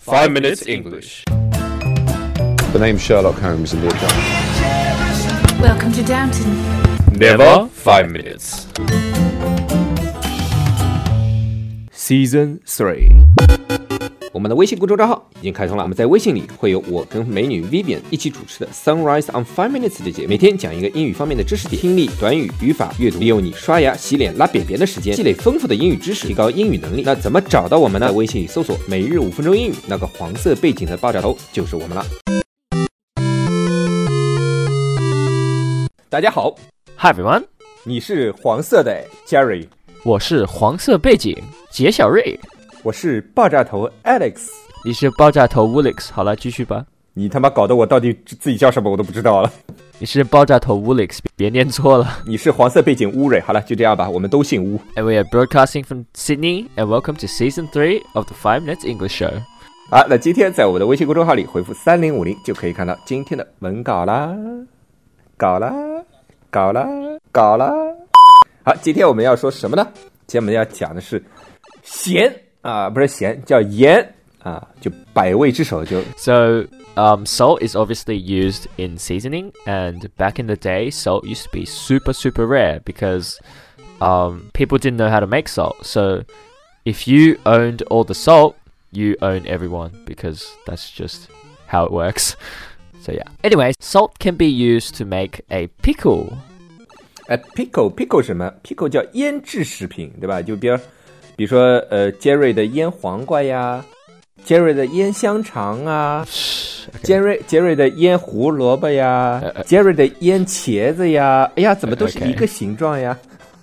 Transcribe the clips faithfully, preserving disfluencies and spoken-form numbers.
Five Minutes English. The name's Sherlock Holmes in the account. Welcome to Downton. Never five minutes. Season three， 我们的微信公众账号已经开通了，我们在微信里会有我跟美女 Vivian 一起主持的 Sunrise on Five Minutes 的节目，每天讲一个英语方面的知识点，听力、短语、语法、阅读，利用你刷牙、洗脸、拉便便的时间，积累丰富的英语知识，提高英语能力。那怎么找到我们呢？在微信里搜索每日五分钟英语，那个黄色背景的爆炸头就是我们了。大家好 Hi everyone， 你是黄色的 Jerry， 我是黄色背景杰小瑞， 我是爆炸头 Alex， 你是爆炸头 Woolix。 好了，继续吧。 你他妈搞得我到底自己叫什么我都不知道了。 你是爆炸头 Woolix， 别念错了。 你是黄色背景乌瑞。好了，就这样吧，我们都姓乌。 And we are broadcasting from Sydney and welcome to season three of the Five Minutes English Show。 好，那今天在我们的微信公众号里回复三零五零就可以看到今天的文稿啦，稿啦，稿啦，稿啦。好，今天我们要说什么呢？今天我们要讲的是咸啊，不是咸，叫盐啊，就百味之首就。 So um, salt is obviously used in seasoning, and back in the day, salt used to be super super rare because um, people didn't know how to make salt. So if you owned all the salt, you own everyone because that's just how it works. So yeah. Anyway, salt can be used to make a pickle. 呃 pickle pickle 什么 pickle 叫腌制食品，对吧？就比如比如说呃 Jerry 的腌黄瓜呀， Jerry 的腌香肠啊， Jerry Jerry 的腌胡萝卜呀， Jerry 的腌茄子呀，哎呀怎么都是一个形状呀。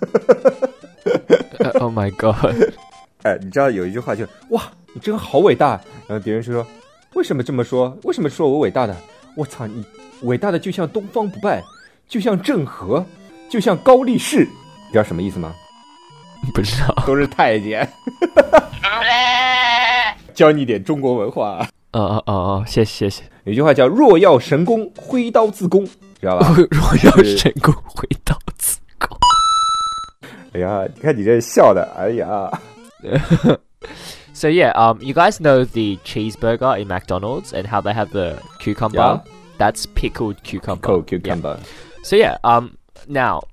Oh my god. 哎，你知道有一句话就哇你真好伟大，然后别人说为什么这么说，为什么说我伟大的，我操你伟大的就像东方不败，就像郑和，就像高力士，你知道什么意思吗？ 不知道， 都是太监。教你点中国文化。 哦哦哦哦，谢谢谢谢。 有句话叫若要神功，挥刀自宫，知道吧？ 若要神功，挥刀自宫。 哎呀，你看你这笑的，哎呀。 So yeah, um, you guys know the cheeseburger in McDonald's and how they have the cucumber? Yeah. That's pickled cucumber. Pickled cucumber. Yeah. So yeah, um, now,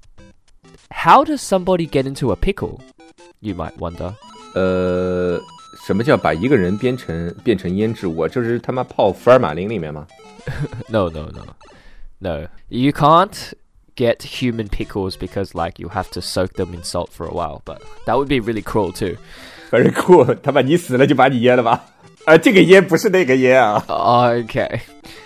how does somebody get into a pickle? You might wonder. 呃，什么叫把一个人变成变成腌制物？这是他妈泡福尔马林里面吗？ No, no, no, no. You can't get human pickles because like you have to soak them in salt for a while, but that would be really cruel too. Very cool. 他把你死了就把你腌了吧？啊，这个腌不是那个腌啊。 Okay.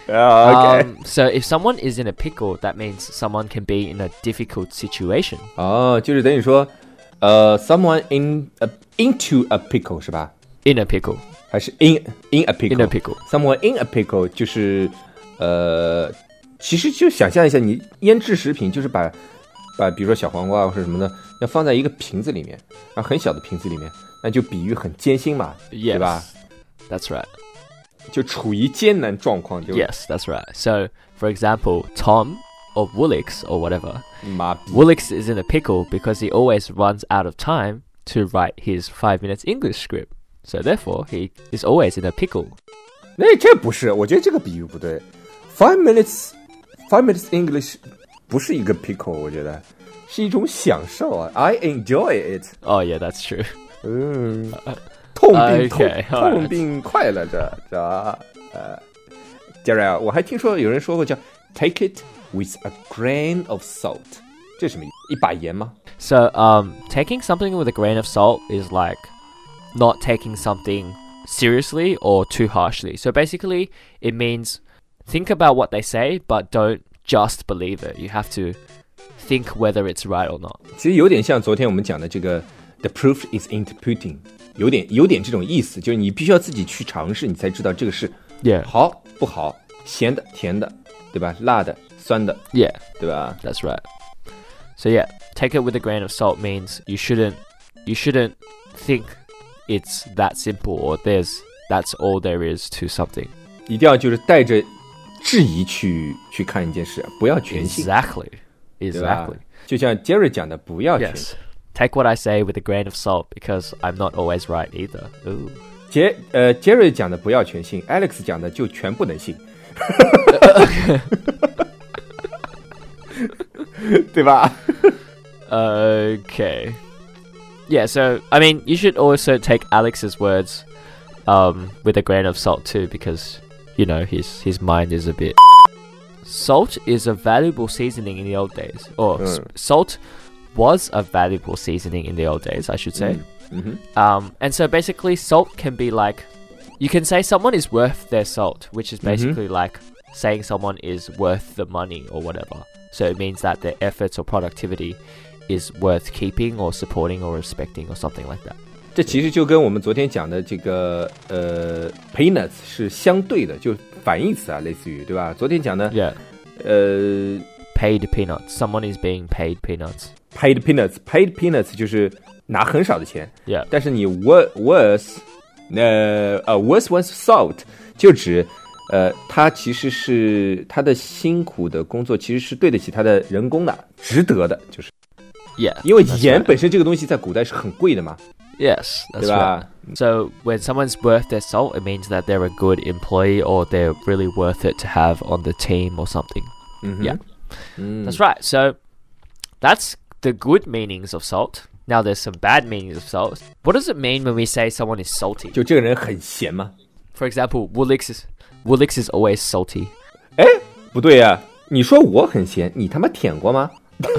Uh, okay. Um, so if someone is in a pickle, that means someone can be in a difficult situation. 哦，就是等于说，呃 ，someone in a, into a pickle 是吧 In a pickle. 还是 in in a pickle? In a pickle. Someone in a pickle 就是呃，其实就想象一下，你腌制食品就是把把比如说小黄瓜或者什么的，要放在一个瓶子里面，然后很小的瓶子里面，那就比喻很艰辛嘛， Yes, 对吧？ That's right. 就处于艰难状况就。 Yes, that's right. So, for example, Tom or Woolix or whatever. 妈逼 Woolix is in a pickle because he always runs out of time to write his five minutes English script. So therefore, he is always in a pickle. 那这不是，我觉得这个比喻不对。Five minutes, five minutes English 不是一个 pickle， 我觉得是一种享受啊。I enjoy it. Oh yeah, that's true. 嗯，痛并 Okay, 痛 alright. 痛并快乐着，是吧？呃，杰瑞啊，我还听说有人说过叫 take it with a grain of salt， 这是什么意思？一把盐吗？ So, um, taking something with a grain of salt is like not taking something seriously or too harshly. So basically, it means think about what they say, but don't just believe it. You have to think whether it's right or not. 其实有点像昨天我们讲的这个 the proof is in the pudding， 有点有点这种意思，就是你必须要自己去尝试，你才知道这个是 Yeah. 好不好，咸的、甜的，对吧？辣的、酸的， Yeah, 对吧？ that's right. So yeah, take it with a grain of salt means you shouldn't you shouldn't think it's that simple or there's that's all there is to something. 一定要就是带着质疑去去看一件事，不要全信。 Exactly. 对吧？ Exactly. 就像 Jerry 讲的，不要全 Yes. 信。 Take what I say with a grain of salt because I'm not always right either. Ooh. 杰呃杰瑞讲的不要全信 ，Alex 讲的就全不能信，对吧 Okay. Yeah, so, I mean, you should also take Alex's words um, with a grain of salt too, because, you know, his, his mind is a bit... Salt is a valuable seasoning in the old days. Or, Mm. s- salt was a valuable seasoning in the old days, I should say. Mhm. Um, and so basically, salt can be like... You can say someone is worth their salt, which is basically like saying someone is worth the money or whatever. So it means that their efforts or productivity is worth keeping or supporting or respecting or something like that. 这其实就跟我们昨天讲的这个呃 peanuts 是相对的，就反义词啊，类似于对吧？昨天讲的 Yeah. 呃 Paid peanuts. Someone is being paid peanuts. paid peanuts paid peanuts 就是拿很少的钱， Yeah. 但是你 worth worth 呃呃 worth one's salt 就指呃他其实是他的辛苦的工作其实是对得起他的人工的，值得的，就是 Yeah. 因为 that's 盐 right. 本身这个东西在古代是很贵的嘛， Yes, that's 对吧？ right. So when someone's worth their salt, it means that they're a good employee or they're really worth it to have on the team or something. 嗯哼 Yeah. 嗯 That's right. So that's the good meanings of salt. Now there's some bad meanings of salt. What does it mean when we say someone is salty? 就这个人很咸吗？ For example, Woolix is Woolix is always salty. 哎，不对呀、啊，你说我很咸，你他妈舔过吗？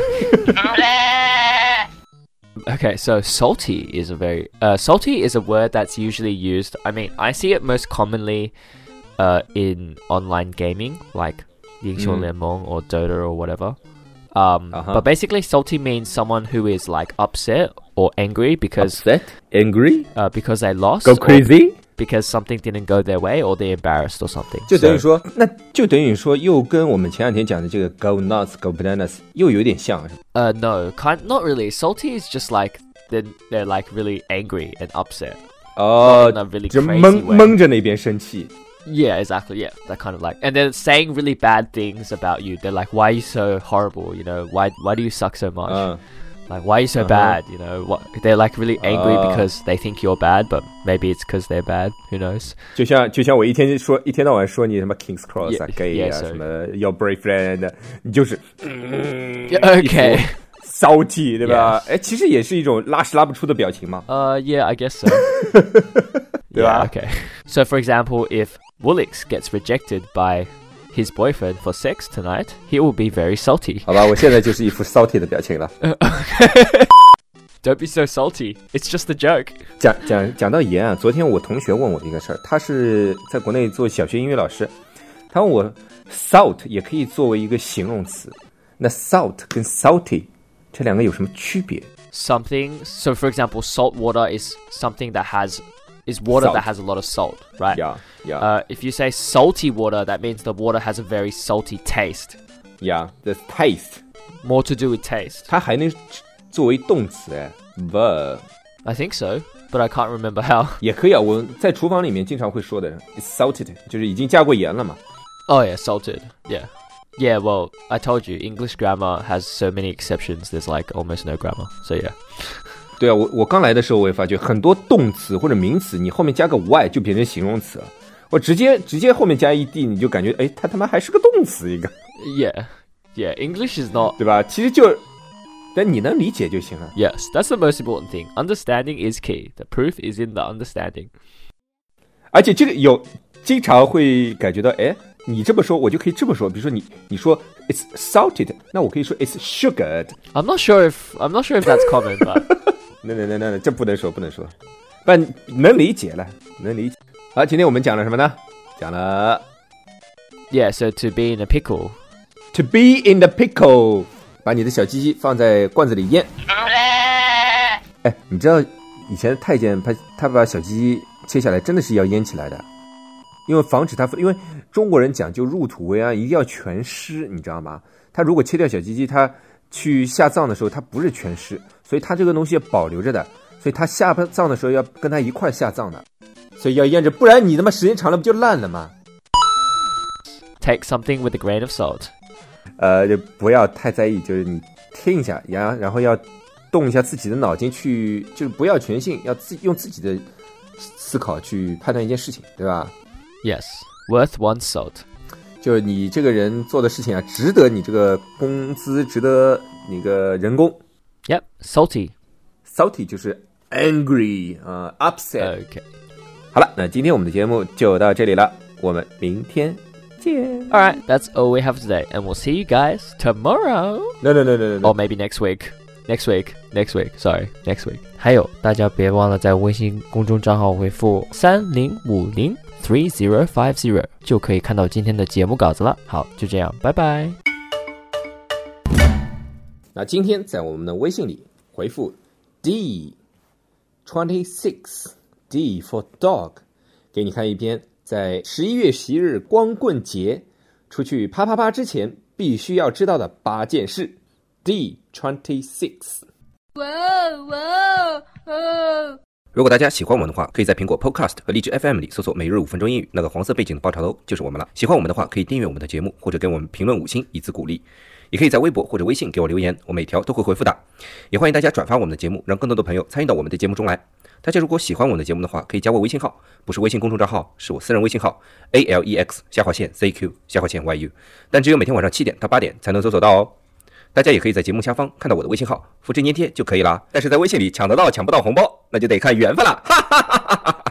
Okay, so salty is a very uh, salty is a word that's usually used. I mean, I see it most commonly uh, in online gaming, like 英雄联盟 or Dota or whatever. Um, Uh-huh. But basically, salty means someone who is like upset or angry because Upset, angry, uh, because they lost, go or crazy， because something didn't go their way, or they're embarrassed or something. 就等于 So- 说，那就等于说，又跟我们前两天讲的这个 go nuts, go bananas 又有点像，是吧 Uh, no, kind not really. Salty is just like they're they're like really angry and upset. 哦 In a really 就 crazy 蒙 way. 蒙着那边生气， Yeah, exactly. Yeah, that kind of like, and they're saying really bad things about you. They're like, "Why are you so horrible? You know, why why do you suck so much? 嗯 Like, why are you so Uh-huh. bad? You know, what?" They're like really angry Ah. because they think you're bad, but maybe it's because they're bad. Who knows? 就像就像我一天说一天到晚说你什么 King's Cross 啊 Yeah, gay 啊 yeah, so- 什么 your boyfriend，你就是 Okay. salty 对吧？哎，其实也是一种拉屎拉不出的表情嘛， Uh, yeah, I guess so. 对 Yeah, 吧？ okay. So, for example, if Woolix gets rejected by his boyfriend for sex tonight, he will be very salty. 好吧，我现在就是一副 salty 的表情了。 Don't be so salty. It's just a joke. 讲讲讲到盐啊，昨天我同学问我一个事儿，他是在国内做小学英语老师，他问我 salt 也可以作为一个形容词，那 salt 跟 salty 这两个有什么区别？ Something. So, for example, salt water is something that has is water Salt. that has a lot of salt, right? Yeah, yeah, Uh, if you say salty water, that means the water has a very salty taste. yeah. The taste， More to do with taste. 它还能作为动词哎 verb I think so, but I can't remember how. 也可以啊。我在厨房里面经常会说的，it's salted，就是已经加过盐了嘛。 Oh yeah, salted. Yeah. Yeah, well, I told you, English grammar has so many exceptions. There's like almost no grammar. So yeah. 对啊，我我刚来的时候我也发觉很多动词或者名词，你后面加个 y 就变成形容词了。我直接直接后面加 ed， 你就感觉哎，它他妈还是个动词一个， Yeah. Yeah, English is not... 对吧？其实就，但你能理解就行了。 Yes, that's the most important thing. Understanding is key. The proof is in the understanding. 而且这个有经常会感觉到，哎，你这么说，我就可以这么说。比如说你你说 it's salted，那我可以说 it's sugared。 I'm not sure if I'm not sure if that's common, but 那那那那这不能说，不能说，不能理解了，能理解。好，今天我们讲了什么呢？讲了 yeah, so to be in a pickle. to be in the pickle， 把你的小鸡鸡放在罐子里腌。哎，你知道以前太监他他把小鸡鸡切下来，真的是要腌起来的，因为防止它，因为中国人讲究入土为安，一定要全湿，你知道吗？他如果切掉小鸡鸡，他去下葬的时候，它不是全湿，所以它这个东西要保留着的，所以他下葬的时候要跟他一块下葬的，所以要腌着，不然你他妈时间长了不就烂了吗？ Take something with a grain of salt. 呃，就不要太在意，就是你听一下，然然后要动一下自己的脑筋去，就是不要全信，要自用自己的思考去判断一件事情，对吧？ Yes, worth one salt. 就你这个人做的事情啊，值得你这个工资，值得你个人工。 Yep, salty. Salty 就是 angry 啊、呃、，upset。 Okay. 好了，那今天我们的节目就到这里了，我们明天见。 All right, that's all we have today, and we'll see you guys tomorrow. No, no, no, no, no. Or maybe next week. Next week. Next week. Sorry, next week. 还有，大家别忘了在微信公众账号回复三零五零 three zero five zero 就可以看到今天的节目稿子了。好，就这样，拜拜。 那今天在我们的微信里回复 D twenty-six D for dog， 给你看一篇在十一月十一日光棍节出去啪啪啪之前必须要知道的八件事。D twenty-six。 哇哇哦！ 如果大家喜欢我们的话，可以在苹果 Podcast 和荔枝 F M 里搜索每日五分钟英语，那个黄色背景的爆炒头就是我们了。喜欢我们的话，可以订阅我们的节目，或者给我们评论五星以资鼓励。也可以在微博或者微信给我留言，我每条都会回复的。也欢迎大家转发我们的节目，让更多的朋友参与到我们的节目中来。大家如果喜欢我们的节目的话，可以加我微信号，不是微信公众账号，是我私人微信号 A L E X 下划线 C Q 下划线 Y U， 但只有每天晚上七点到八点才能搜索到哦。大家也可以在节目下方看到我的微信号，复制粘贴就可以了。但是在微信里抢得到抢不到红包，那就得看缘分了，哈哈哈哈哈。